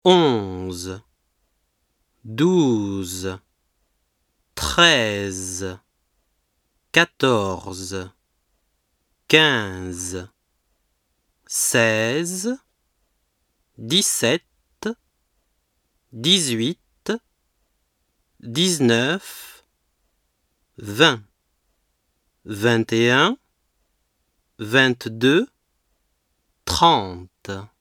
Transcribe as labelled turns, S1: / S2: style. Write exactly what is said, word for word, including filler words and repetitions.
S1: onze, douze, treize, quatorze, quinze, seize, dix-sept, dix-huit, dix-neuf, vingt, vingt et un, vingt-deux, trente.